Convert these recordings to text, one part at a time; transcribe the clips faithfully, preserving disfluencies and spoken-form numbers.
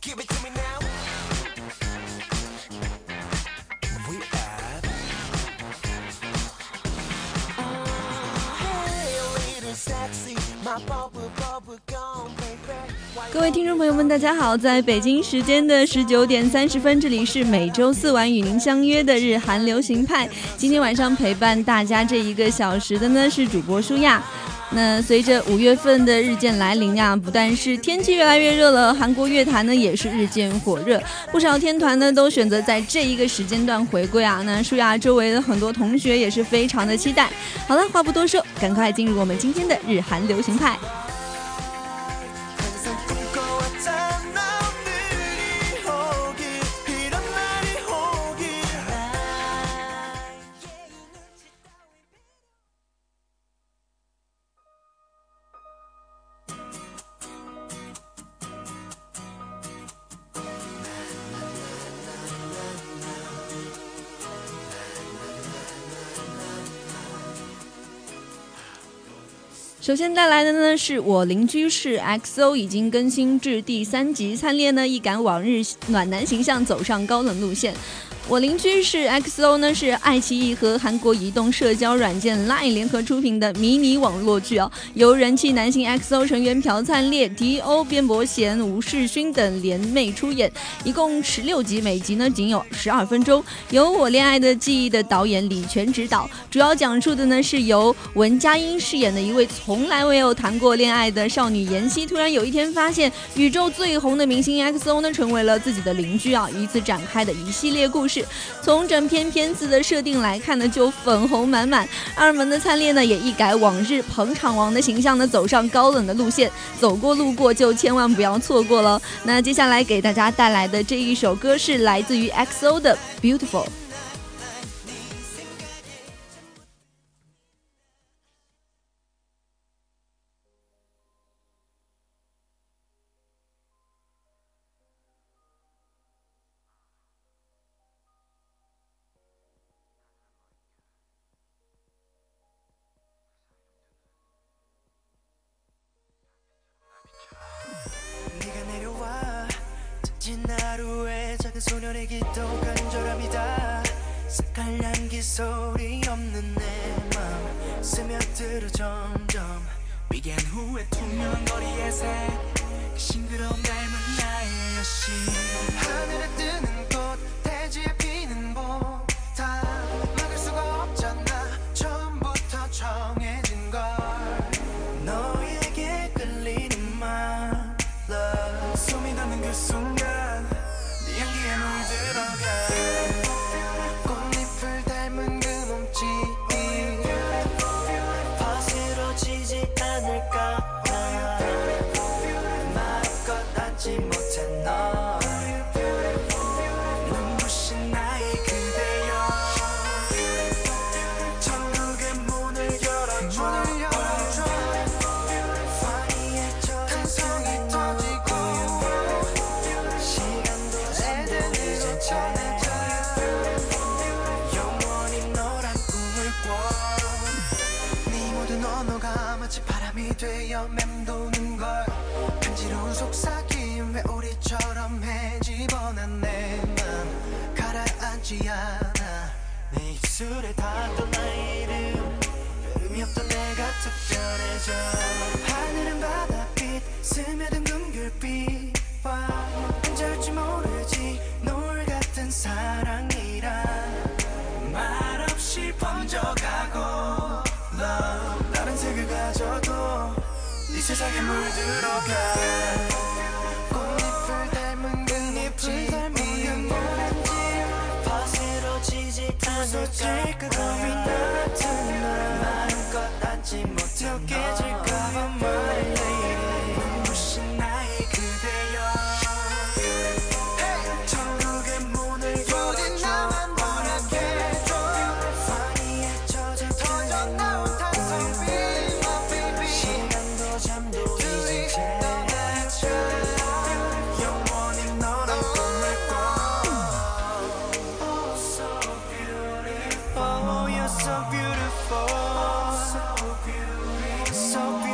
Give it to me now. We at. Oh, hey, little sexy, my bubble bubble gum, baby. 各位听众朋友们大家好，在北京时间的十九点三十分，这里是每周四晚与您相约的日韩流行派。今天晚上陪伴大家这一个小时的呢是主播舒亚。那随着五月份的日渐来临啊，不但是天气越来越热了，韩国乐坛呢也是日渐火热，不少天团呢都选择在这一个时间段回归啊。那舒亚周围的很多同学也是非常的期待。好了，话不多说，赶快进入我们今天的日韩流行派。首先带来的呢是我邻居是 X O 已经更新至第三集，灿烈呢一改往日暖男形象，走上高冷路线。我邻居是 X O 呢是爱奇艺和韩国移动社交软件 Line 联合出品的迷你网络剧哦，由人气男星 X O 成员朴灿烈、迪欧、边伯贤、吴世勋等联袂出演，一共十六集，每集呢仅有十二分钟，由我恋爱的记忆的导演李全执导，主要讲述的呢是由文佳音饰演的一位从来未有谈过恋爱的少女妍希，突然有一天发现宇宙最红的明星 X O 呢成为了自己的邻居啊，以此展开的一系列故事。从整篇片子的设定来看呢，就粉红满满。二门的灿烈呢，也一改往日捧场王的形象呢，走上高冷的路线。走过路过就千万不要错过了。那接下来给大家带来的这一首歌是来自于 X O 的 Beautiful。 소년의 기도 간절함이다 색깔 향기 소리 없는 내 맘 스며들어 점점 비긴 후에 투명한 거리의 새 싱그러운 닮은 나의 여신 하늘에 뜨는 꽃 대지에 피는 봄 다 막을 수가 없잖아 처음부터 정해진 걸 너에게 끌리는 맘 Love 숨이 닿는 그 순간 향기에 물들어가 꽃잎을 닮은 그 몸짓이 거스러지지 않을까 마음껏 안지 못한 너 눈부신 나의 그대여 천국의 문을 열어줘 파이에 젖은 성이 터지고 영원히 너란 꿈을 꿔 네 모든 언어가 마치 바람이 되어 맴도는 걸 간지러운 속삭임 회오리처럼 해집어난 내 맘 가라앉지 않아 내 입술에 닿았던 나의 이름 별음이 없던 내가 특별해져 하늘은 바다빛 스며든 금귤빛과 언제올지 모르지 노을 같은 사랑이란 말없이 번져가고 Love 다른 색을 가져도 네 세상에 물들어가 꽃잎을 닮은 그 잎을 닮은 거스러지지 않을까 겁이 나는 날 마음껏 안지 못해 깨질까봐 My lady 눈부신 나의 그대여 천국의 문을 열어줘 파이에 젖은 터져나온 탄성빛 시간도 잠도 잊은 채 영원히 너란 꿈을 꿔 Oh so beautiful Oh you're so beautiful So beautiful So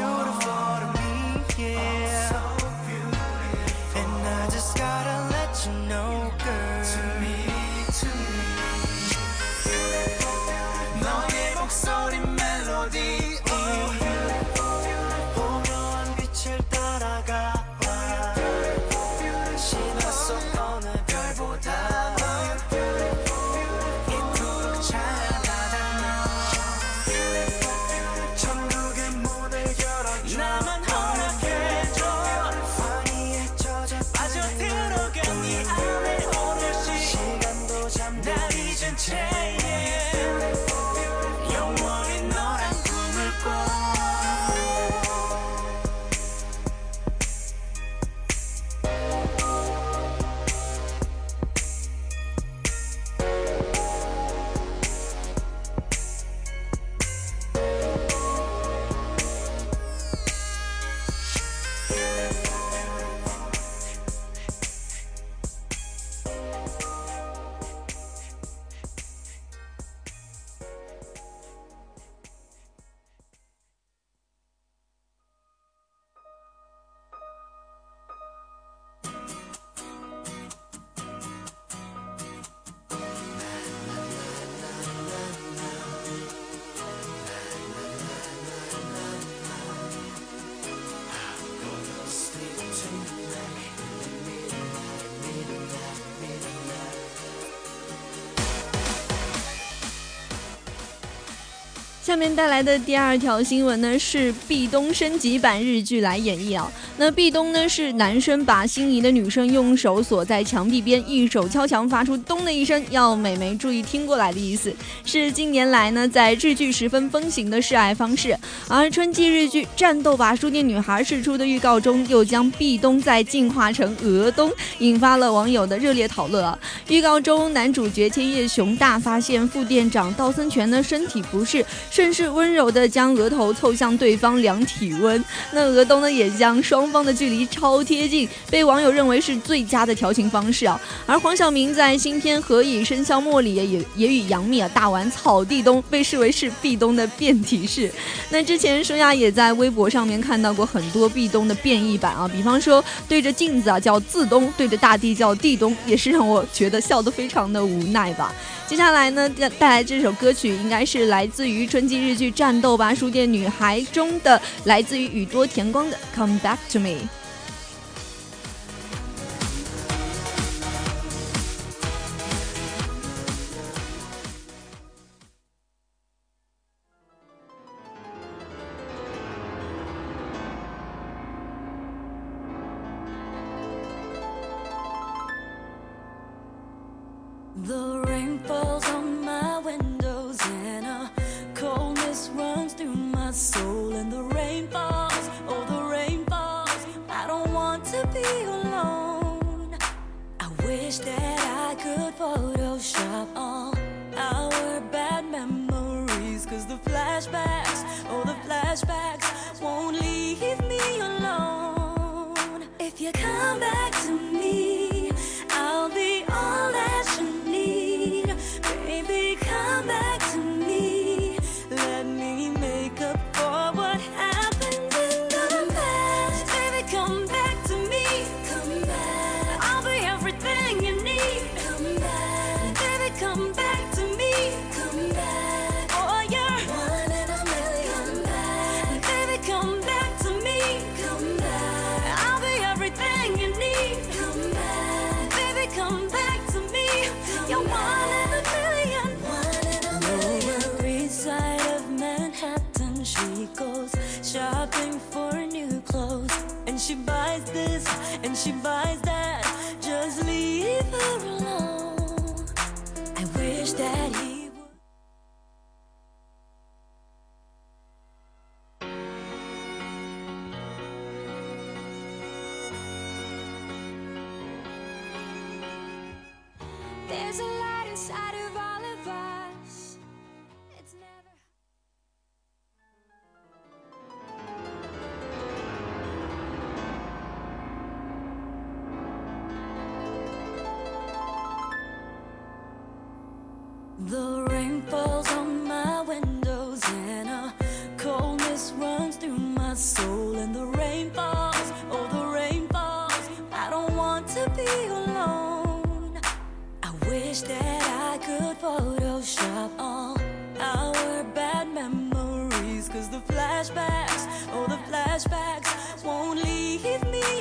다가와 신호 속 오늘 별보다 이토록 찬란한 너 천국의 문을 열어줘 나만 허락해줘 환희에 젖어 빠져들어간 네 안에 오롯이 시간도 잠도 날 잊은 채 영원히 너란 꿈을 꿔 下面带来的第二条新闻呢，是壁咚升级版日剧来演绎啊。那壁咚呢，是男生把心仪的女生用手锁在墙壁边，一手敲墙发出咚的一声，要美眉注意听过来的意思，是近年来呢在日剧十分风行的示爱方式。而春季日剧《战斗吧书店女孩》释出的预告中，又将壁咚再进化成额咚，引发了网友的热烈讨论啊。预告中，男主角千叶雄大发现副店长道森泉的身体不适，顺势温柔地将额头凑向对方量体温，那额咚呢也将双方的距离超贴近，被网友认为是最佳的调情方式啊。而黄晓明在新片《何以笙箫默》里也也与杨幂啊大玩草地咚，被视为是壁咚的变体式。那之前舒雅也在微博上面看到过很多壁咚的变异版啊，比方说对着镜子啊叫自咚，对着大地叫地咚，也是让我觉得笑得非常的无奈吧。接下来呢，带来这首歌曲应该是来自于春季日剧《战斗吧书店女孩》中的，来自于宇多田光的 Come Back to me。The rain falls on my windows and a coldness runs through my soul, and the rain falls, oh the rain falls, I don't want to be alone. I wish that I could Photoshop all our bad memories, cause the flashbacks, oh the flashbacks won't leave me alone. If you come back to me, I'll be all that you need. Baby, come back to me. Let me make up for what happened in the past. Baby, come back to me. Come back. I'll be everything you need. Come back. Baby, come back to me. Come back. Oh, you're one in a million. Come back. Baby, come back to me. Come back. I'll be everything you need. Come back. Baby, come back to me. You're one in a million. One in a million. Lower East Side of Manhattan, she goes shopping for new clothes, and she buys this and she buys that. Just leave her alone. I wish that he would. There's a light inside of all of us. It's never. The rain falls on my windows and a coldness runs through my soul, and the rain falls, oh the rain falls, I don't want to be alone. I wish that I could Photoshop all our bad memories, cause the flashbacks, oh the flashbacks won't leave me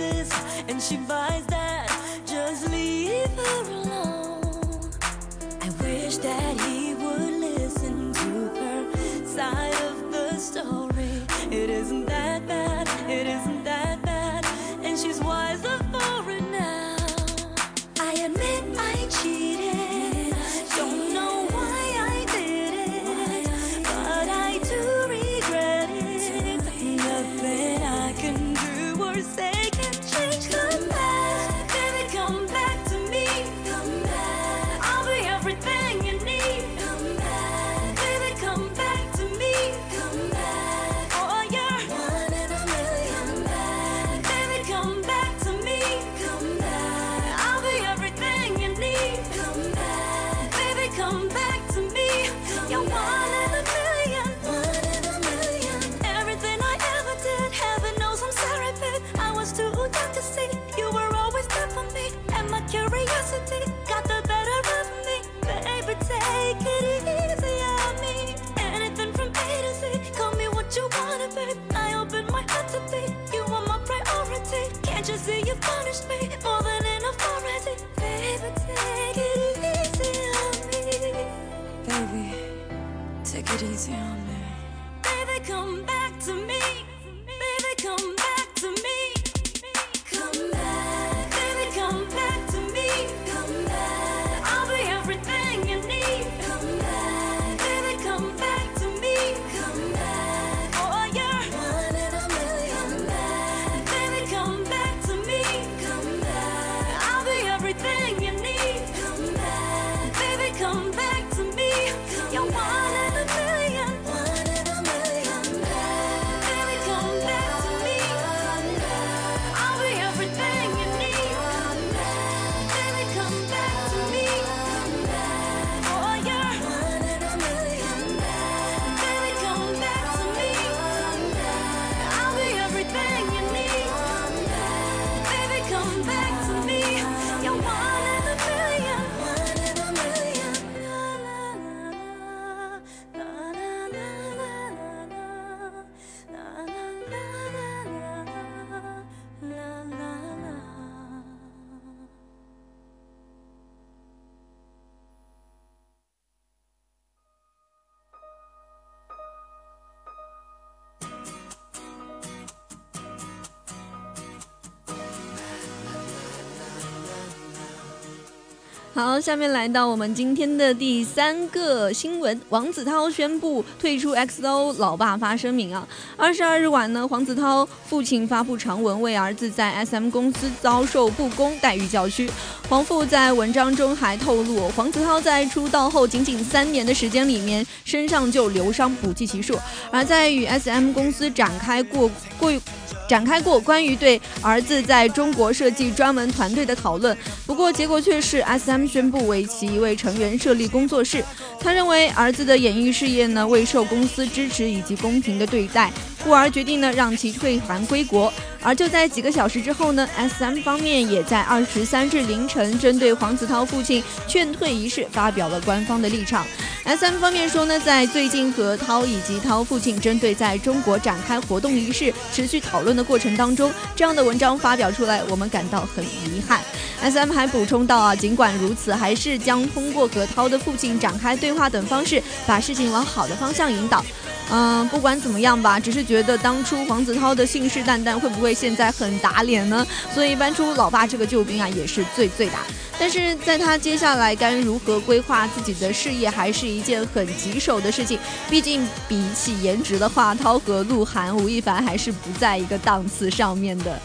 this and she buys that, just leave her alone. I wish that he would listen to her side of the story. It isn't that bad, it isn't that bad, and she's wiser for it now. I admit I cheated, don't know why I did it, but I do regret it. Nothing I can do or say can change. Come back, baby, come back to me. Come back, I'll be everything you need. Come back, baby, come back to me. Come back, oh you're one in a million. Come back, baby, come back to me. Come back, I'll be everything you need. Come back, baby, come back to me. You're one in a million. One in a million. Everything I ever did, heaven knows I'm sorry, babe. I was too young to see you were always there for me, and my curiosity got the better of me. Baby, take it easy on me. Anything from A to Z, call me what you wanna, babe. I open my heart to be, you are my priority. Can't you see you punished me more than enough already? Baby, take it easy on me. Baby, take it easy on me. Baby, come back to me. Baby, come back to me. Come back, baby, come back to me. Come back, I'll be everything you need. Come back, baby, come back to me. Come back, oh you're one in a million. Come back, baby, come back to me. Come back, I'll be everything you need. Come back, baby, come back to me. You're one in a million. One in a million. Baby, come back to me. I'll be everything you need. Baby, come back to me. Oh, you're one in a million. Baby, come back to me. I'll be everything you need. Baby, come back to me. You're one in a million. One in a million. La la la la la la la la la la. 好，下面来到我们今天的第三个新闻，王子涛宣布退出 X O， 老爸发声明啊。二十二日晚呢，黄子韬父亲发布长文，为儿子在 S M 公司遭受不公待遇叫屈。黄父在文章中还透露，黄子韬在出道后仅仅三年的时间里面，身上就流伤不计其数，而在与 S M 公司展开过过。展开过关于对儿子在中国设计专门团队的讨论，不过结果却是 S M 宣布为其一位成员设立工作室。他认为儿子的演艺事业呢未受公司支持以及公平的对待，故而决定呢让其退韩归国。而就在几个小时之后呢 ，S M 方面也在二十三日凌晨针对黄子韬父亲劝退一事发表了官方的立场。S M 方面说呢，在最近和涛以及涛父亲针对在中国展开活动一事持续讨论的过程当中，这样的文章发表出来，我们感到很遗憾。S M 还补充到啊，尽管如此，还是将通过和涛的父亲展开对话等方式，把事情往好的方向引导。嗯，不管怎么样吧，只是觉得当初黄子韬的信誓旦旦，会不会现在很打脸呢？所以搬出老爸这个救兵啊，也是最最打。但是在他接下来该如何规划自己的事业，还是一件很棘手的事情。毕竟比起颜值的话，涛和鹿晗、吴亦凡还是不在一个档次上面的。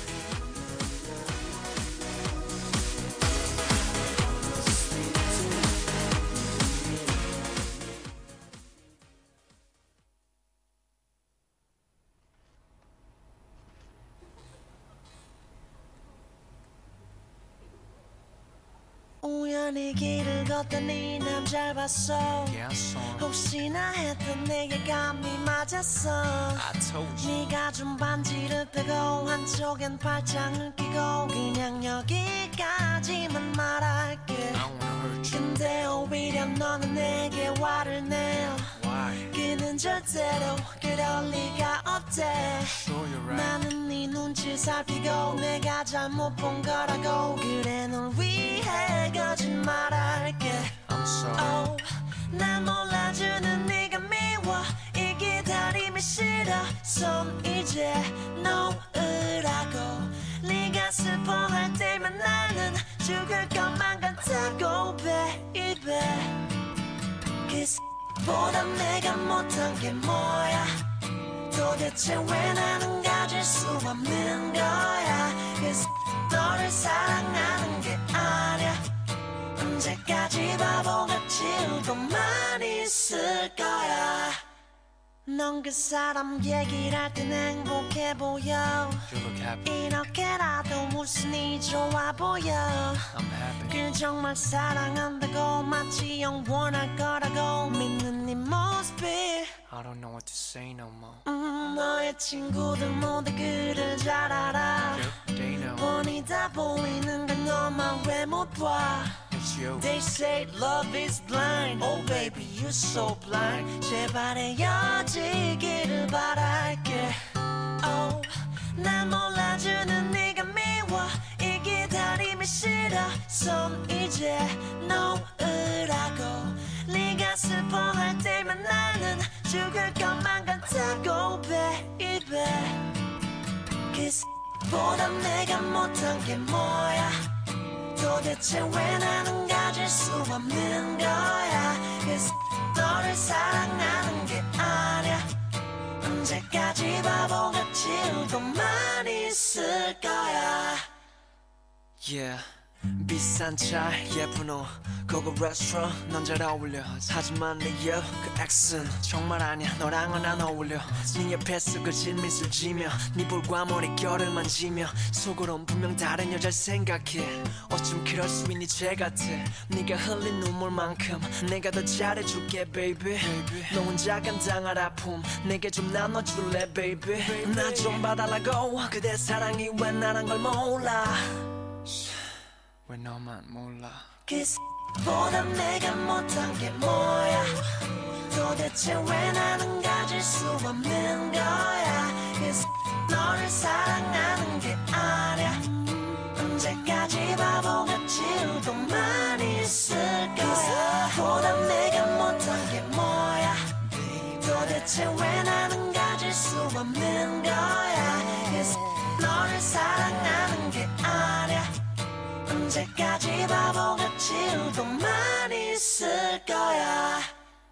우연히 길을 걷더니 남 잘 봤어 혹시나 했던 내게 감이 맞았어 네가 준 반지를 빼고 한쪽엔 팔짱을 끼고 그냥 여기까지만 말할게 근데 오히려 너는 내게 화를 내요 그는 절대로 그럴 리가 없대 Sure, you're right. 나는 네 눈치 살피고 내가 잘못 본 거라고 그래 널 위해 거짓말할게 I'm sorry. oh, 날 몰라주는 네가 미워 이 기다림이 싫어 손 이제 놓으라고 네가 슬퍼할 때면 나는 죽을 것만 같다고 baby 보다 내가 못한 게 뭐야 도대체 왜 나는 가질 수 없는 거야 너를 사랑하는 게 아니야 언제까지 바보같이 울고만 있을 거야 넌 그 사람 얘기를 할 땐 행복해 보여 You look happy. 이렇게라도 웃으니 좋아 보여 I'm happy. 그 정말 사랑한다고 마치 영원할 거라고 믿는 네 모습이 I don't know what to say no more. 음, 너의 친구들 모두 그를 잘 알아 Yep, they know. 뻔히 다 보이는 걸 너만 왜 못 봐 It's you. They say love is blind Oh baby you're so blind 제발 헤어지기를 바랄게 Oh 날 몰라주는 네가 미워 이 기다림이 싫어 손 이제 놓으라고 네가 슬퍼할 때면 나는 죽을 것만 같다고 baby 보다 내가 못한 게 뭐야 도대체 왜 나는 가질 수 없는 거야 너를 사랑하는 게 아니야 언제까지 바보같이 울고만 있을 거야 Yeah. 비싼 차 예쁜 옷 고급 레스토랑 넌 잘 어울려 하지만 내 옆 그 엑스는 정말 아니야 너랑은 안 어울려 네 옆에서 그 질미술 지며 네 볼과 머릿결을 만지며 속으론 분명 다른 여자를 생각해 어쩜 그럴 수 있니 죄 같아 네가 흘린 눈물만큼 내가 더 잘해줄게 baby 너 혼자 감당할 아픔 내게 좀 나눠줄래 baby 나 좀 봐달라고 그대 사랑이 왜 나란 걸 몰라 왜 너만 몰라 보다 내가 못한 게 뭐야 도대체 왜 나는 가질 수 없는 거야 너를 사랑하는 게 아니야 언제까지 바보같이 울고만 있을 거야 보다 내가 못한 게 뭐야 도대체 왜 나는 가질 수 없는 거야 너를 사랑하는 게 아니야 언제까지 바보같이 울고만 있을 거야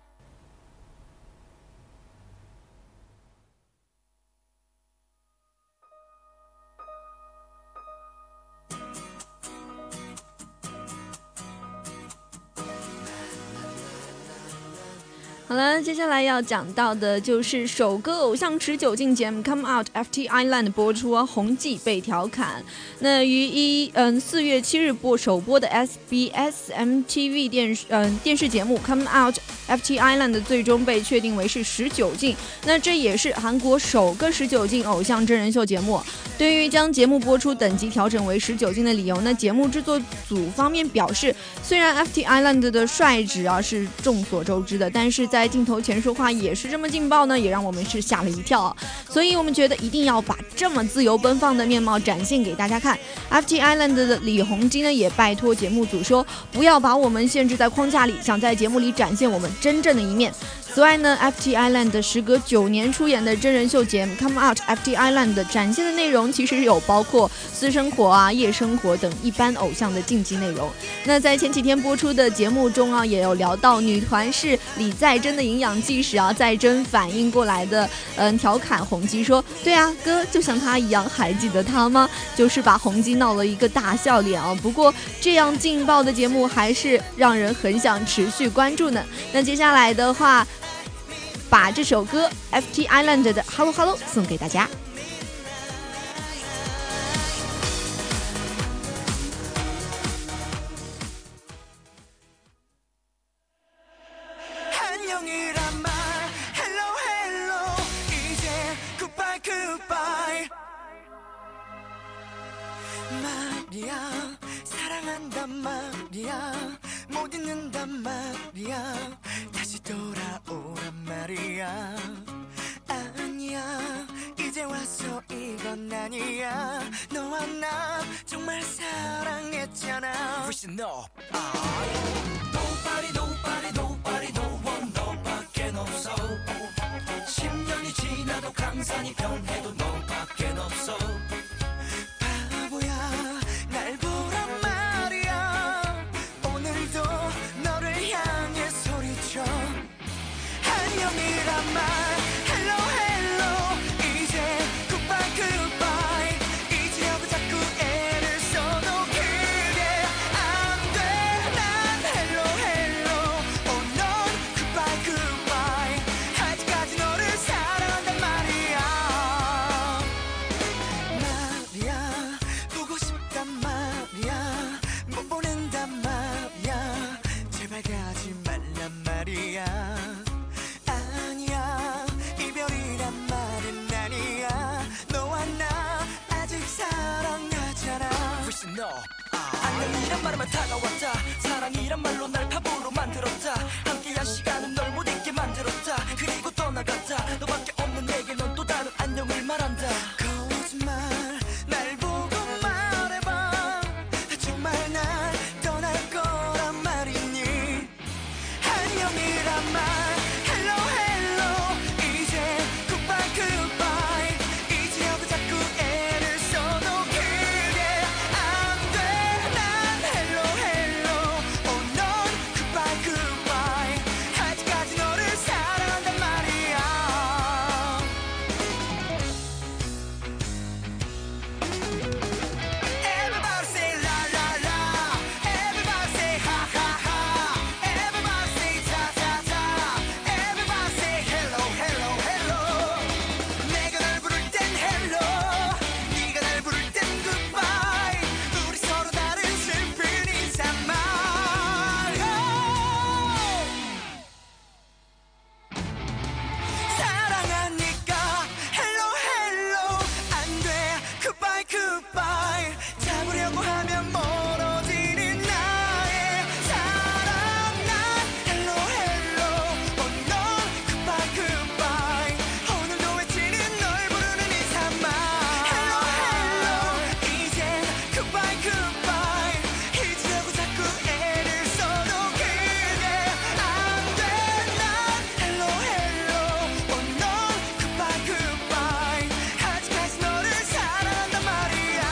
好了，接下来要讲到的就是首个偶像持久进节目 Come Out F T Island 播出啊，红记被调侃。那于一嗯四月七日播首播的 S B S M T V 电视嗯电视节目 Come Out F T Island 最终被确定为是十九禁。那这也是韩国首个十九禁偶像真人秀节目。对于将节目播出等级调整为十九禁的理由呢，节目制作组方面表示，虽然 F T Island 的帅值啊是众所周知的，但是在在镜头前说话也是这么劲爆呢，也让我们是吓了一跳。所以我们觉得一定要把这么自由奔放的面貌展现给大家看。F T Island 的李弘基呢也拜托节目组说，不要把我们限制在框架里，想在节目里展现我们真正的一面。此外呢 F T Island 时隔九年出演的真人秀节目 Come Out F T Island 展现的内容其实有包括私生活啊、夜生活等一般偶像的禁忌内容。那在前几天播出的节目中啊，也有聊到女团是李在真的营养技师啊，在真反应过来的，嗯，调侃弘基说，对啊，哥就像他一样，还记得他吗？就是把弘基闹了一个大笑脸啊。不过这样劲爆的节目还是让人很想持续关注呢。那接下来的话，把这首歌 F T Island 的 Hello Hello 送给大家。 다시 돌아오란 말이야 아니야 해왔어 이건 아니야 너와 나 정말 사랑했잖아 훨씬 너 Nobody nobody nobody no one 너밖엔 없어 십 년이 지나도 강산이 변해도 너밖엔 없어 바보야 날 보란 말이야 오늘도 너를 향해 소리쳐 안녕이란 말 Hello hello 이제 Goodbye goodbye 이제하고 자꾸 애를 써도 그게 안돼 난 Hello hello Oh 넌 Goodbye goodbye 아직까지 너를 사랑한단 말이야 말이야 보고 싶단 말이야 못 보낸단 말이야 제발 가지 말란 말이야 아니야 이별이란 말은 아니야 너와 나 아직 사랑하잖아 훨씬 너 안녕이란 말에만 다가왔다 사랑이란 말로 날 바보로 만들었다 함께한 시간은 널 못 잊게 만들었다 그리고 떠나갔다 너밖에 없는 내게 넌 또 다른 안녕을 말한다 거짓말 날 보고 말해봐 정말 날 떠날 거란 말이니 안녕이란 말 Hello hello 이제 Goodbye goodbye 이제하고 자꾸 애를 써도 그게 안돼 난 Hello hello Oh 넌 Goodbye goodbye 아직까지 너를 사랑한단 말이야 Everybody say la la la Everybody say ha ha ha Everybody say ta ta ta Everybody say hello hello hello 내가 널 부를 땐 hello 네가 날 부를 땐 goodbye 우리 서로 다른 슬픈 인사말 사랑하니까 hello hello 안돼 goodbye goodbye 잡으려고 하면 멀어지는 나의 사랑 난 hello hello oh 넌 goodbye goodbye 오늘도 외치는 널 부르는 이 산말 hello hello 이젠 goodbye goodbye 잊으려고 자꾸 애를 써도 그게 안돼 난 hello hello oh 넌 goodbye goodbye 아직까지 너를 사랑한단 말이야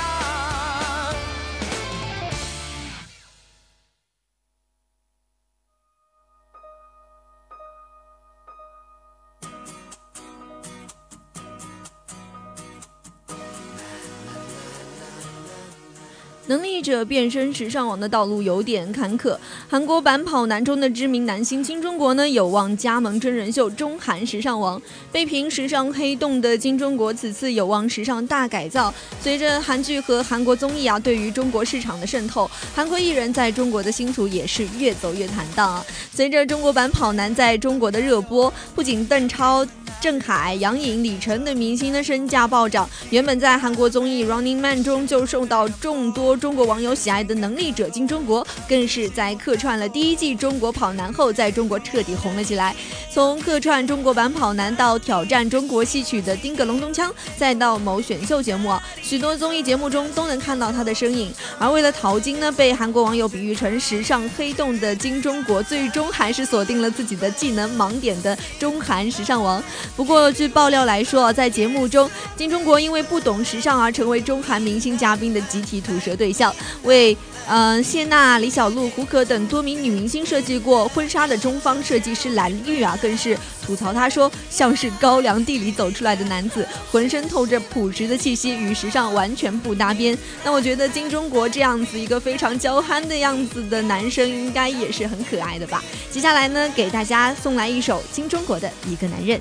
能力者变身时尚网的道路有点坎坷，韩国版跑男中的知名男星金钟国呢，有望加盟真人秀中韩时尚王。被评时尚黑洞的金钟国此次有望时尚大改造。随着韩剧和韩国综艺啊对于中国市场的渗透，韩国艺人在中国的星途也是越走越坦荡啊。随着中国版跑男在中国的热播，不仅邓超、郑恺、杨颖、李晨等明星的身价暴涨，原本在韩国综艺《Running Man》中就受到众多中国网友喜爱的能力者金钟国，更是在客串了第一季中国跑男后，在中国彻底红了起来。从客串中国版跑男到挑战中国戏曲的丁个隆咚锵，再到某选秀节目，许多综艺节目中都能看到他的身影。而为了淘金呢，被韩国网友比喻成时尚黑洞的金钟国，最终还是锁定了自己的技能盲点的中韩时尚王。不过据爆料来说，在节目中金钟国因为不懂时尚而成为中韩明星嘉宾的集体吐舌对象，为呃谢娜、李小璐、胡可等多名女明星设计过婚纱的中方设计师蓝玉啊，更是吐槽他说，像是高粱地里走出来的男子，浑身透着朴实的气息，与时尚完全不搭边。那我觉得金钟国这样子一个非常娇憨的样子的男生，应该也是很可爱的吧。接下来呢，给大家送来一首金钟国的一个男人。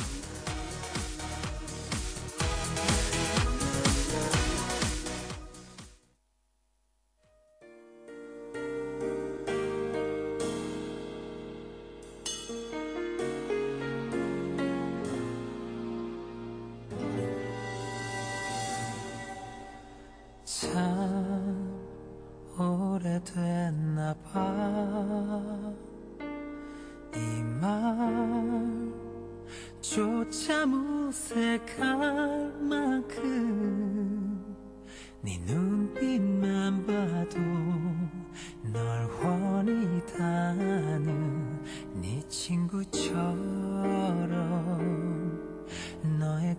참 오래됐나 봐 이 말조차 참 어색할 만큼 네 눈빛만 봐도 널 훤히 다는 네 친구처럼 너의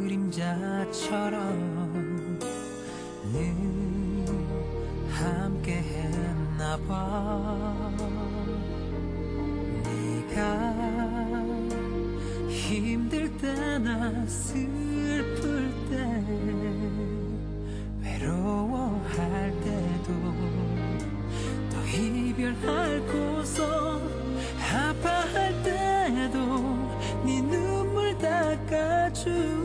그림자처럼 늘 함께 했나봐 네가 힘들 때나 슬플 때 외로워할 때도 또 이별하고서 아파할 때도 네 눈물 닦아준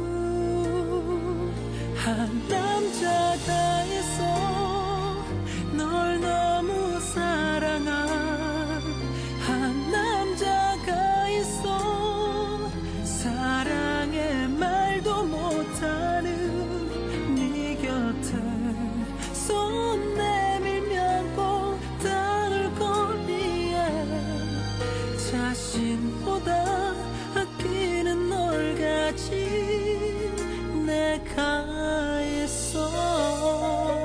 한 남자가 있어 널 너무 사랑한 한 남자가 있어 사랑의 말도 못하는 네 곁을 손 내밀면 꼭 닿을 거리에 자신보다 아끼는 널 가진 내가 있어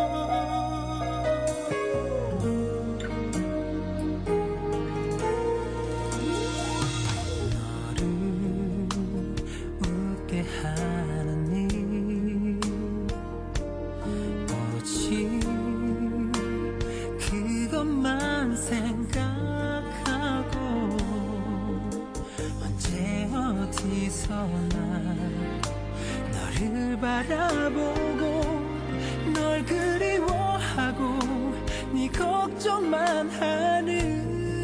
너를 바라보고 널 그리워하고 네 걱정만 하는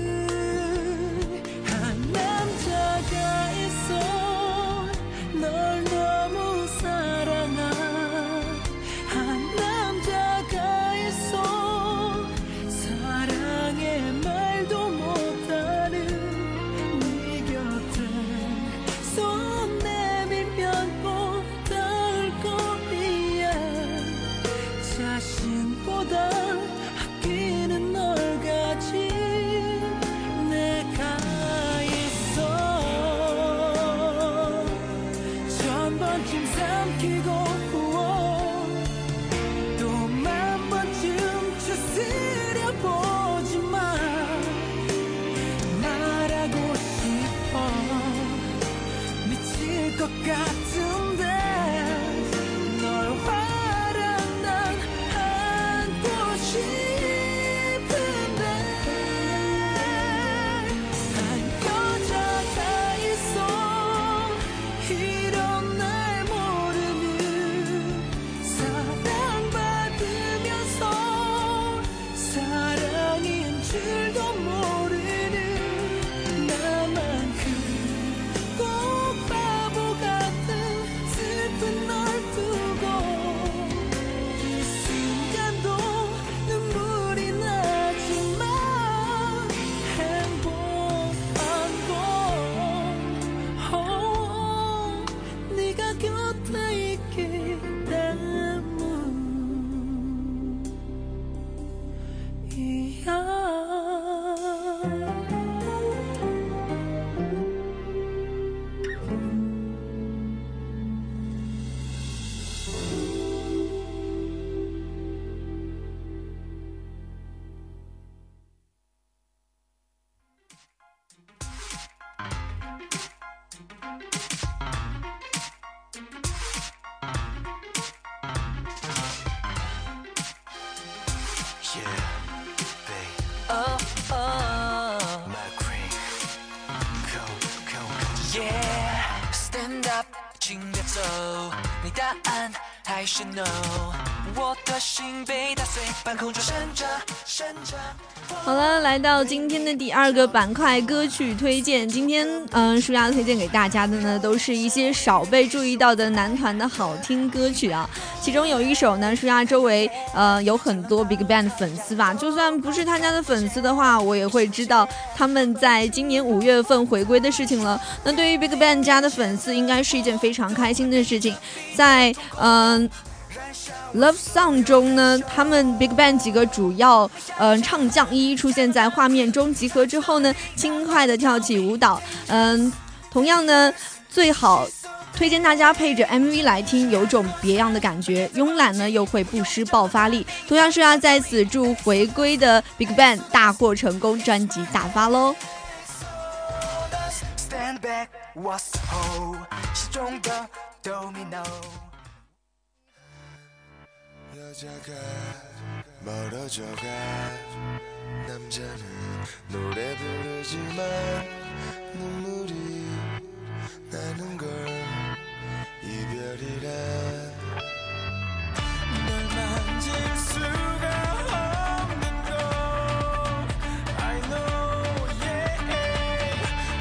한 남자가 있어 널 너무 사랑한 한 남자가 있어 사랑의 말도 못하는 네 곁을 손 자신보다 아끼는 널 가진 내가 있어 천번쯤 삼키고 또 만번쯤 추스려 보지만 말하고 싶어 미칠 것 같은데 널 Stand up， 请别走，你答案还是 no。我的心被打碎，半空中闪着闪着。 好了，来到今天的第二个板块歌曲推荐。今天嗯，舒雅推荐给大家的呢，都是一些少被注意到的男团的好听歌曲啊。其中有一首呢，舒雅周围呃有很多 BigBang 的粉丝吧，就算不是他家的粉丝的话，我也会知道他们在今年五月份回归的事情了。那对于 BigBang 家的粉丝，应该是一件非常开心的事情。在嗯。呃Love Song 中呢，他们 BigBang 几个主要呃唱将一一出现在画面中集合之后呢，轻快的跳起舞蹈。嗯、呃，同样呢， 最好推荐大家配着 M V 来听，有种别样的感觉，慵懒呢又会不失爆发力。同样是要在此祝回归的 BigBang 大获成功，专辑大发喽。 Stand back, what's whole? 시종도 domino. 여자가 멀어져가 남자는 노래 부르지만 눈물이 나는 걸 이별이란 널 만질 수가 없는 걸 I know yeah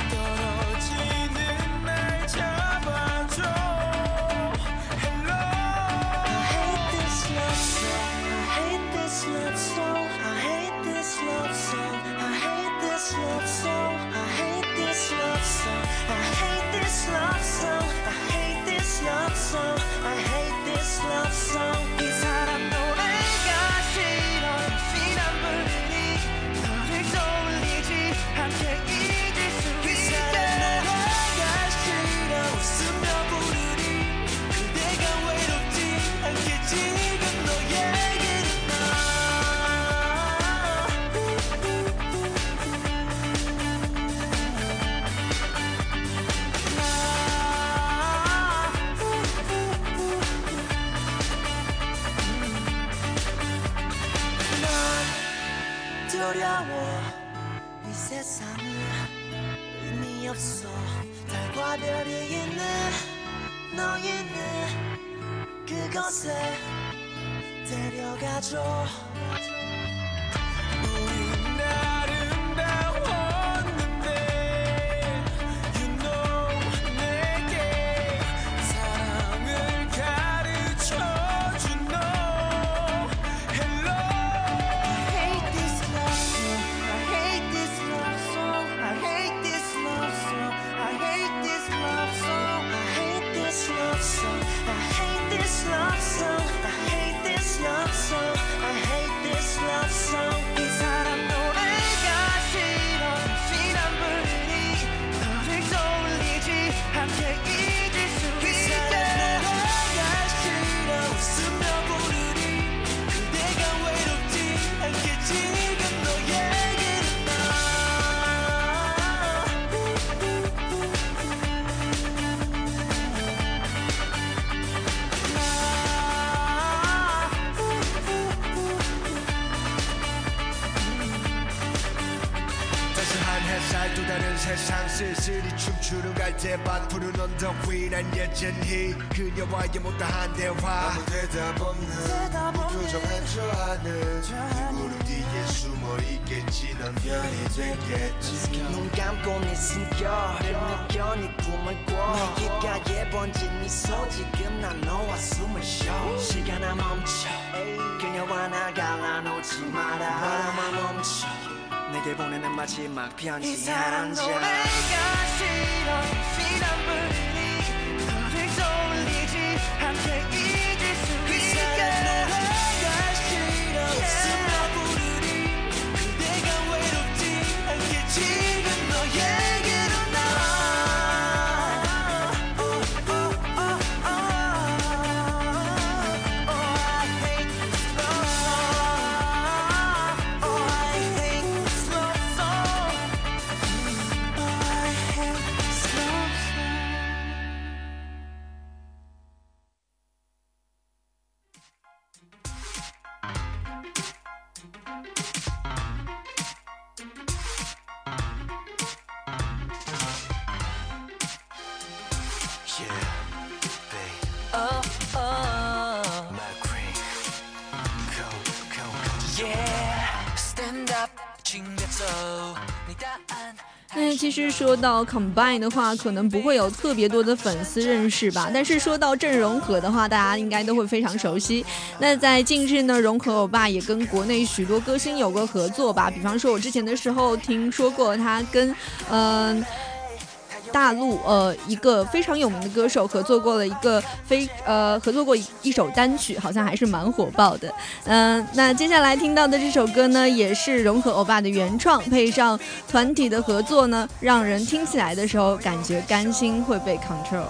떨어지는 날 잡아줘 Hello I hate this love song I hate this love song I hate this love song I hate this love song I hate this love song I hate this love song I hate this love song I hate this love song 이 사람 노래가 싫어 피난물이 너를 떠올리지 않게 잊을 수 있게 노래가 싫어 웃으며 부르니 그대가 외롭지 않게 지금 너에게는 두려워 이 세상은 의미 없어 달과 별이 있는 너희는 그곳에 데려가줘 우린 아름다웠는데 You know 내게 사랑을 가르쳐준 너 Hello I hate this love song I hate this love song I hate this love song I hate this love song I hate this love song I hate this love song I hate this love song I hate this love song 이 사람 노래가 싫어 피난물이 너를 떠올리지 않게 잊을 수 있게 노래가 싫어 웃으며 부르니 그대가 외롭지 않게 지금 너에게는 나 따스한 햇살 또 다른 세상 쓸쓸히 춤추는 갈대밭 푸른 언덕 위 난 여전히 그녀와의 못다한 대화 아무 대답 없는 무표정한 저 하늘 이 구름 뒤에 숨어 있겠지 넌 별이 되겠지 눈 감고 네 숨결을 느껴 네 꿈을 꿔 내 귓가에 번진 미소 지금 난 너와 숨을 쉬어 시간아 멈춰 그녀와 나 갈라놓지 마라 바람아 멈춰 내게 보내는 마지막 편지 이 사람 노래가 싫어 피난물이 너를 떠올리지 않게 잊을 수 있게 노래가 싫어 웃으며 부르니 그대가 외롭지 않게 지금 너에게로 나 Oh, oh, oh, oh. Oh, I hate this love song Oh, I hate this love song Oh, I hate this love song Yeah, babe Oh, oh My queen Go, go, go Yeah Stand up 준비했어 네答案那其实说到 Combine 的话，可能不会有特别多的粉丝认识吧。但是说到郑容和的话，大家应该都会非常熟悉。那在近日呢，容和欧巴也跟国内许多歌星有过合作吧。比方说，我之前的时候听说过他跟嗯。呃大陆呃一个非常有名的歌手合作过了一个非呃合作过一一首单曲，好像还是蛮火爆的。嗯、呃，那接下来听到的这首歌呢，也是融合欧巴的原创，配上团体的合作呢，让人听起来的时候感觉甘心会被 control。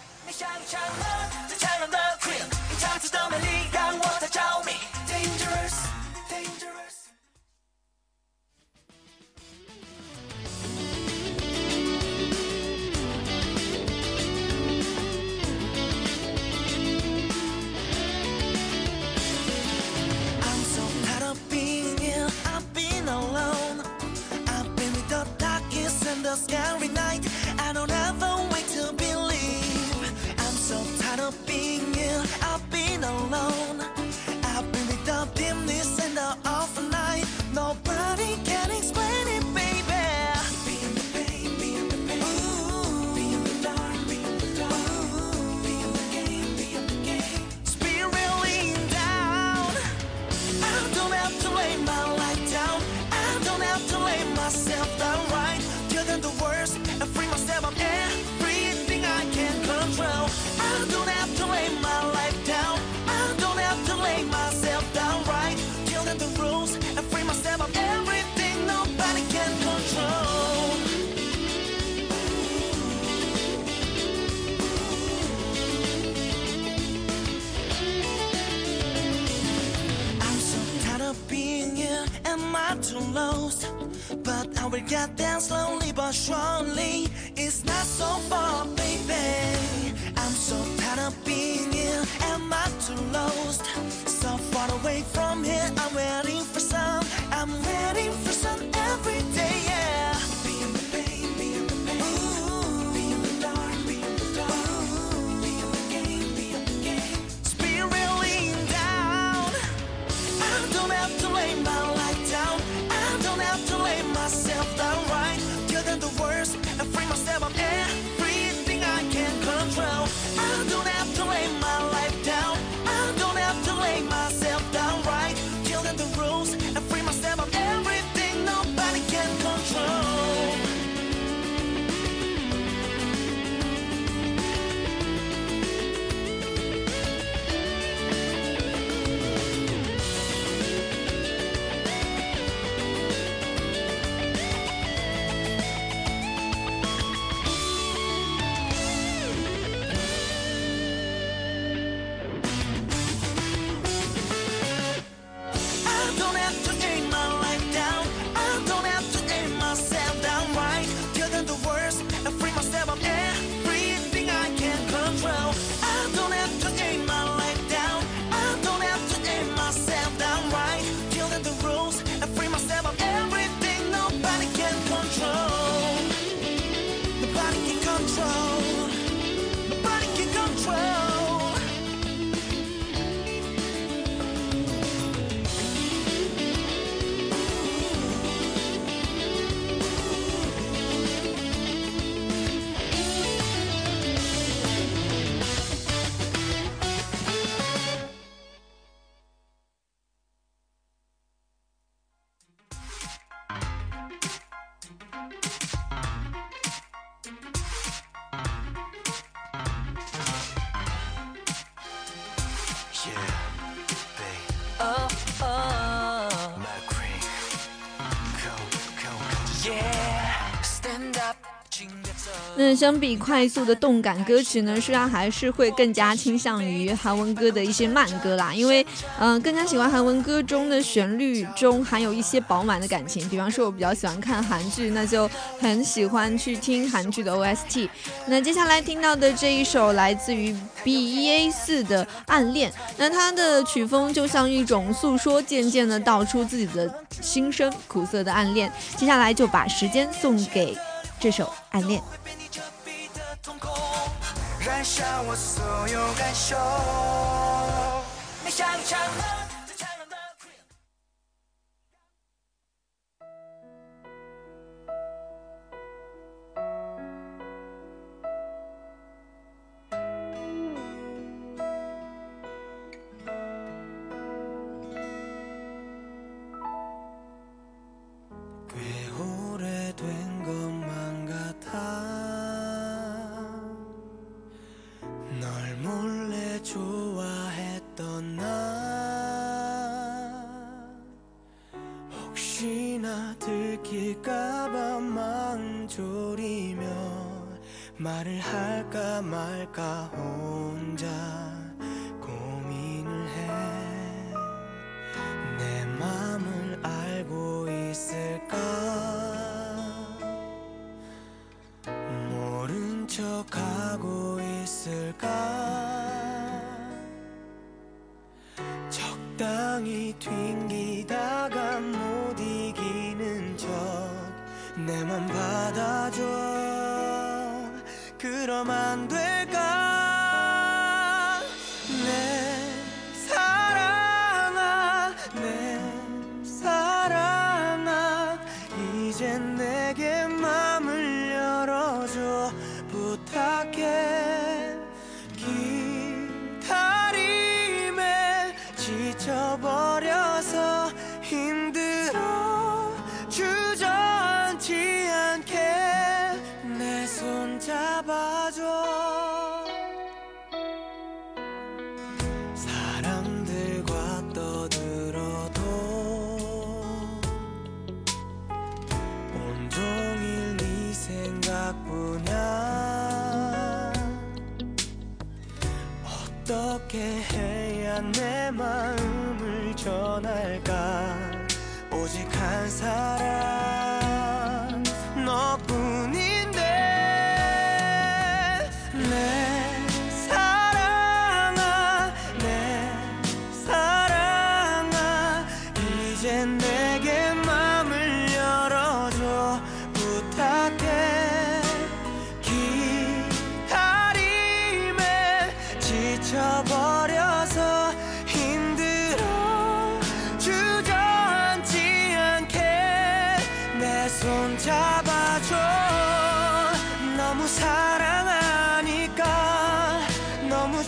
Scary night, I don't have a way to believe. I'm so tired of being you. I've been alone. I've been with the dimness and the awful night. Nobody can explain it, baby. Be in the pain, be in the pain. Ooh, be in the dark, be in the dark. Ooh, be in the game, be in the game. Spiraling down. I don't have to lay my life down. I don't have to lay myself down right. The worst and free myself of everything I can control. I don't have to lay my life down. I don't have to lay myself down right. Kill them the rules and free myself of everything nobody can control. I'm so tired of being here. Am I too lost? But I will get there slowly but surely. It's not so far, baby. I'm so tired of being here. Am I too lost? So far away from here. I'm waiting for some. I'm waiting for some every day, yeah. Be in the pain, be in the pain. Ooh, be in the dark, be in the dark. Ooh, be in the game, be in the game. Spiraling down. I don't have to lay my life down. I don't have to lay myself down right. Kill them the worst and free myself of everything I can control. I don't have to lay my life down. I don't have to lay myself down right. Kill them the rules and free myself of everything nobody can control. Stand up 那相比快速的动感歌曲呢，虽然还是会更加倾向于韩文歌的一些慢歌啦，因为嗯、呃，更加喜欢韩文歌中的旋律中含有一些饱满的感情。比方说，我比较喜欢看韩剧，那就很喜欢去听韩剧的 O S T。那接下来听到的这一首来自于 B E A 四的《暗恋》，那它的曲风就像一种诉说，渐渐的道出自己的心声，苦涩的暗恋。接下来就把时间送给这首《暗恋》。 燃烧我所有感受，你像一场最灿烂的꽤 오래된 것만 같아 혼자 들킬까봐 마음 졸이며 말을 할까 말까 혼자 고민을 해. 내 맘을 알고 있을까? 모른 척하고 있을까? 적당히 튕기다가 못 이기는 척 내 맘 받아줘. 그럼 안 될까? 내 사랑아 내 사랑아 이젠 내게 맘을 열어줘 부탁해. 기다림에 지쳐버려서 힘들어 주저앉지 않게 내 손 잡아줘. 사람들과 떠들어도 온종일 네 생각뿐이야. 어떻게 해야 내 마음을 전할까? 오직 한 사람 너뿐인데. 내 사랑아 내 사랑아 이젠 내게 맘을 열어줘 부탁해. 기다림에 지쳐버려서 힘들어 주저앉지 않게 내 손 잡아줘. 너무 사랑하니까 너무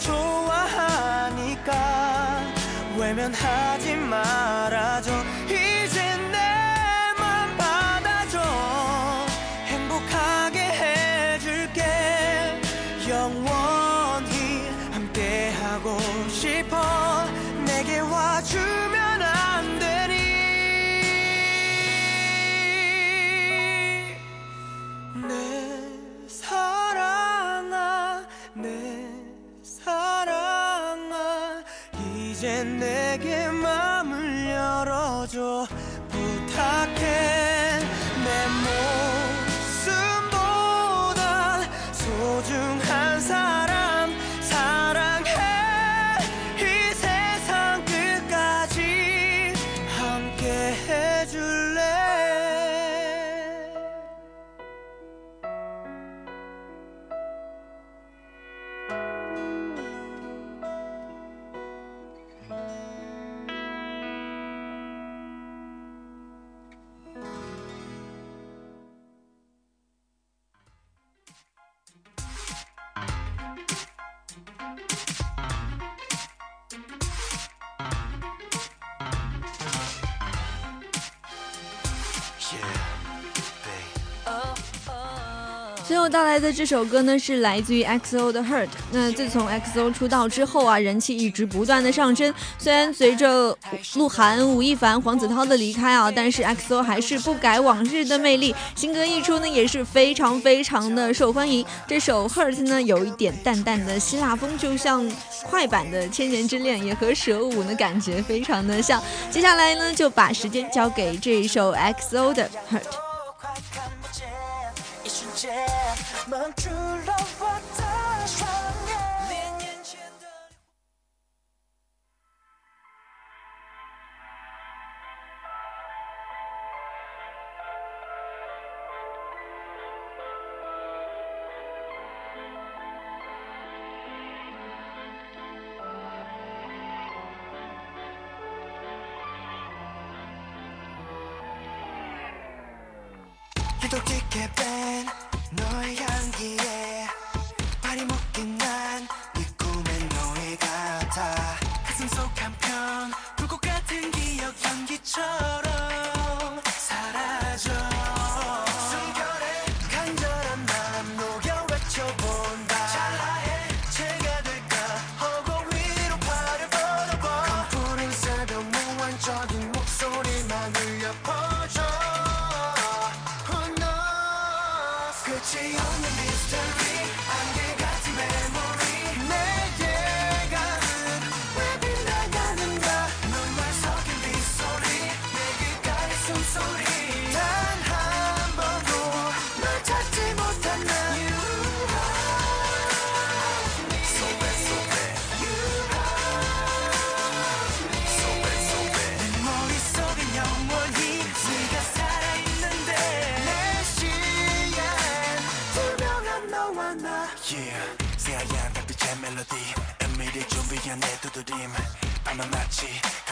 좋아하니까 외면하지 말아줘. 이젠 내 맘 받아줘. 행복하게 해줄게. 영원히 함께하고 싶어. 내게 와주면 안 되니? 내 사랑아 내 사랑아 이젠 내게 맘을 열어줘 부탁해. 내 목숨보다 소중한 사람 사랑해. 이 세상 끝까지 함께 해줄래? 最后带来的这首歌呢，是来自于 X O 的 Hurt。 那自从 X O 出道之后啊，人气一直不断的上升。虽然随着鹿晗、吴亦凡、黄子韬的离开啊，但是 X O 还是不改往日的魅力，新歌一出呢，也是非常非常的受欢迎。这首 Hurt 呢，有一点淡淡的希腊风，就像快版的《千年之恋》，也和蛇舞的感觉非常的像。接下来呢，就把时间交给这一首 X O 的 Hurt。 유독지게 뺀 너의 향기에 발이 묶인 난 네 꿈의 노예 같아. 가슴 속 한편 불꽃 같은 기억 연기처럼 사라져. 숨결에 간절한 마음 녹여 외쳐본다. 찰나에 제가 될까 허공 위로 팔을 뻗어봐. 컴프린 새벽 무한적인 목소리만 울려 퍼져.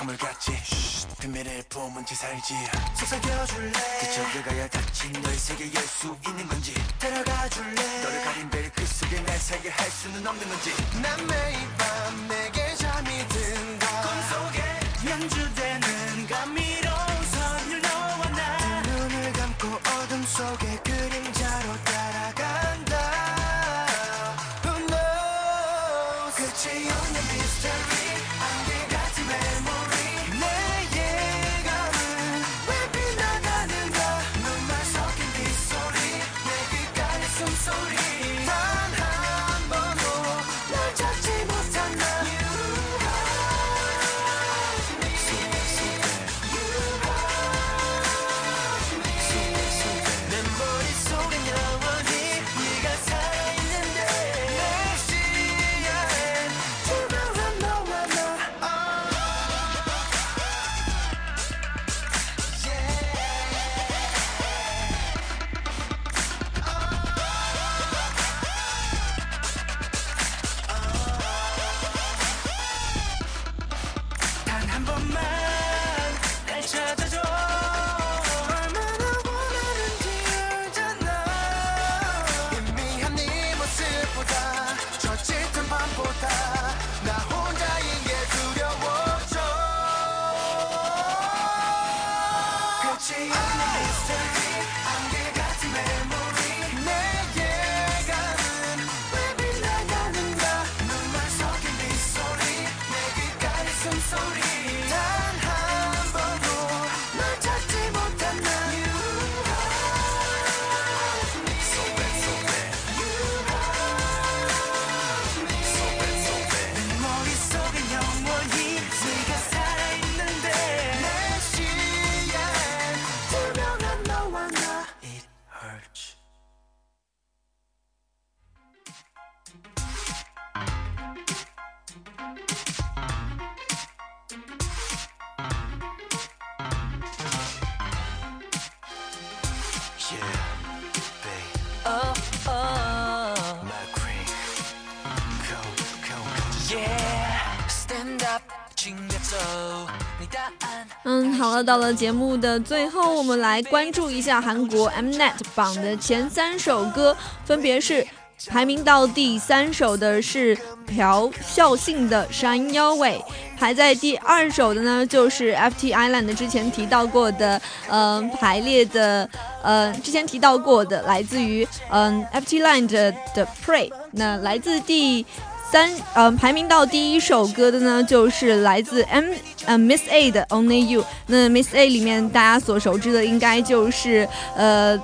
가물같이 비밀을 품은 채 살지 속삭여줄래 그저 그가야 닫힌 너의 세계에 열 수 있는 건지 데려가줄래 너를 가린 베일 그 속에 내 세계 할 수는 없는 건지 난 매일 밤 내게 잠이 든다 꿈속에 연주되는 감미로운 선율 너와 나 눈을 감고 어둠 속에 그림자로 따라간다 Who knows 끝이 없는 mystery 안개 같은 memory 내 예감은 왜 빗나가는가 눈만 섞인 빗소리 내 귓가의 숨소리 단 한 번도 널 찾지 못한 나 내 머릿속엔 영원히 네가 살아있는데 내 시야엔 투명한 너와 나 단 한 번만 날 찾아줘 얼마나 원하는지 알잖아 희미한 네 모습보다 저 짙은 밤보다 나 혼자인 게 두려워져 끝이 없는 mystery 안개 같은 memory 내 예감은 왜 빗나가는가 눈만 섞인 빗소리 내 귓가의 숨소리 단 한 번도 널 찾지 못한 나 So bad, so bad So bad, so bad 내 머릿속엔 영원히 네가 살아있는데 내 시야엔 투명한 너와 나 It hurts Yeah, babe. Oh, oh. My queen. Go, go, go. Yeah, stand up. 请别走，你答案。 嗯，好了，到了节目的最后，我们来关注一下韩国 Mnet 榜的前三首歌，分别是排名到第三首的是朴孝信的《山腰尾》，排在第二首的呢就是 F T Island 之前提到过的，嗯、呃，排列的，呃，之前提到过的，来自于嗯、呃、F T Island 的 Pray， 那来自第。三呃，排名到第一首歌的呢，就是来自 M 呃 Miss A 的 Only You。那 Miss A 里面大家所熟知的应该就是呃。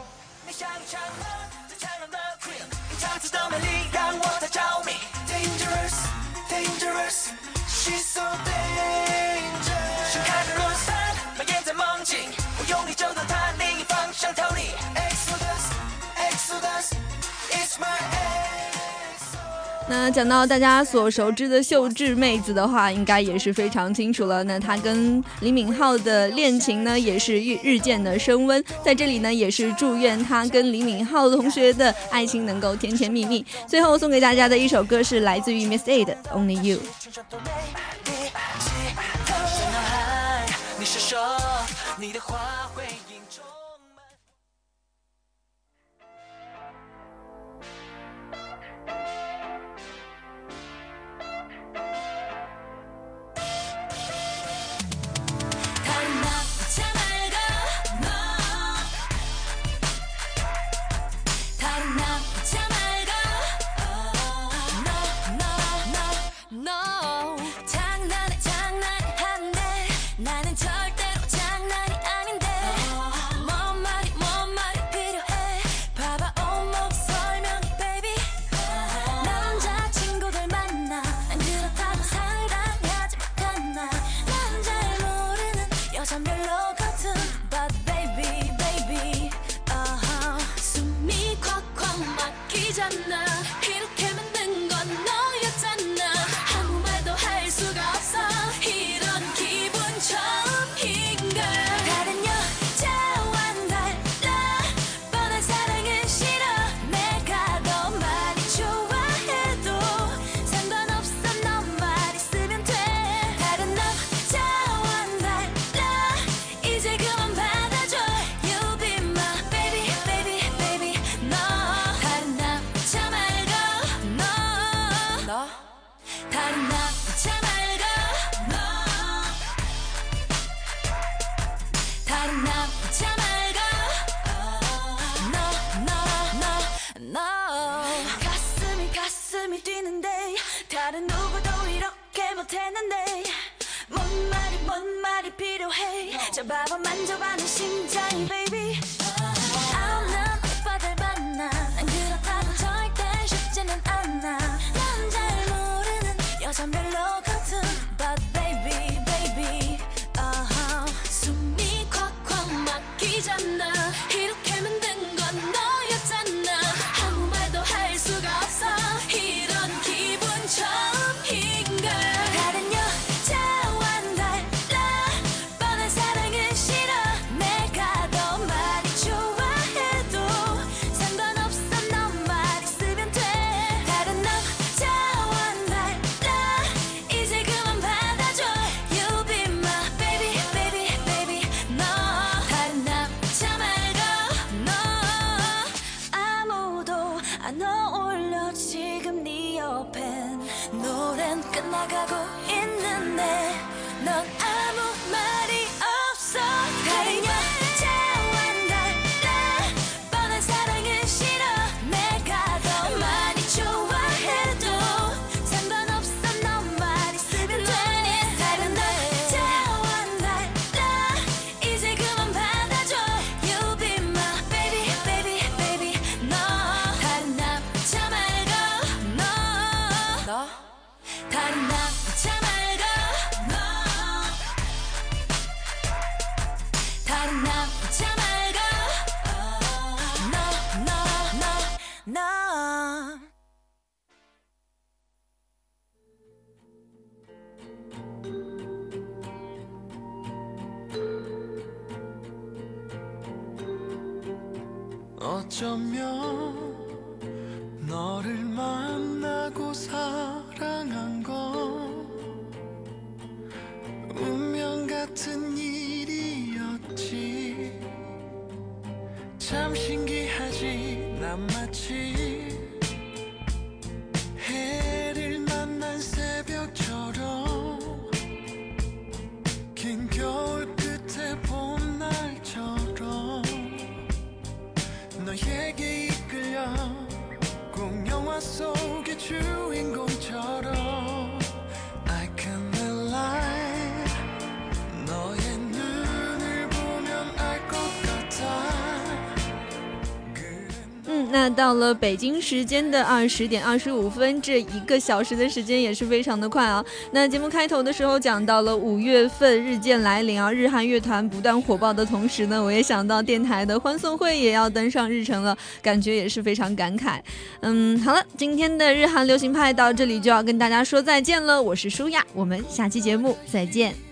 那讲到大家所熟知的秀智妹子的话，应该也是非常清楚了。那她跟李敏镐的恋情呢，也是日日渐的升温。在这里呢，也是祝愿她跟李敏镐同学的爱情能够甜甜蜜蜜。最后送给大家的一首歌是来自于 Miss A 的 Only You。 잡아봐 만져봐는 심장이 baby 없는 오빠들 만나 난 그렇다고 절대 쉽지는 않아 난 잘 모르는 여잔 별로거든 But baby baby uh-huh. 숨이 콱콱 막히잖아 이렇게 만든 건 너였잖아 아무 말도 할 수가 없어 이런 기분 처음인걸 다른 여자와 달라 뻔한 사랑은 싫어 내가 더 많이 좋아해도 상관없어 너만 있으면 돼 다른 남자와 달라 이제 그만 받아줘 You be my baby baby baby 너 다른 남자 말고 너 아무도 안 어울려 지금 네 옆엔 노래는 끝나가고 있는데 넌 아무 말이 없어 다른 여자와 달라 뻔한 사랑은 싫어 내가 더 많이 좋아해도 상관없어 너만 있으면 돼 다른 남자와 달라 이제 그만 받아줘 You be my baby baby baby 너 다른 남자 말고 너 너 다른 남자 말고 너 다른 남자 말고 너 너 너 너 어쩌면 너를 만나고 사랑한 건 운명 같은 일이었지 참 신기하지 난 마치 해를 만난 새벽처럼 긴 겨울 끝에 봄날처럼 너에게 이끌려 꼭 영화 속의 주인공처럼 I can lie 너의 눈을 보면 알 것 같아 嗯，那到了北京时间的二十点二十五分，这一个小时的时间也是非常的快啊。那节目开头的时候讲到了五月份日渐来临啊，日韩乐团不断火爆的同时呢，我也想到电台的欢送会也要登上日程了，感觉也是非常感慨。嗯，好了，今天的日韩流行派到这里就要跟大家说再见了，我是舒雅，我们下期节目再见。